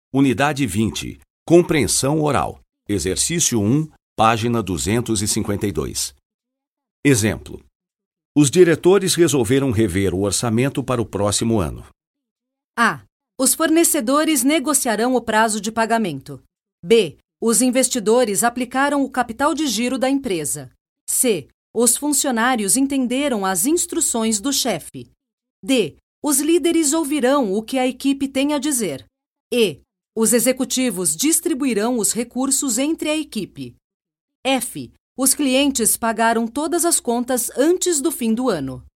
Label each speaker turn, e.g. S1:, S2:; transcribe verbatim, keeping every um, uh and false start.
S1: Unidade vinte. Compreensão oral. Exercício um, página duzentos e cinquenta e dois. Exemplo. Os diretores resolveram rever o orçamento para o próximo ano.
S2: A. Os fornecedores negociarão o prazo de pagamento. B. Os investidores aplicaram o capital de giro da empresa. C. Os funcionários entenderam as instruções do chefe. D. Os líderes ouvirão o que a equipe tem a dizer. E. Os executivos distribuirão os recursos entre a equipe. F. Os clientes pagaram todas as contas antes do fim do ano.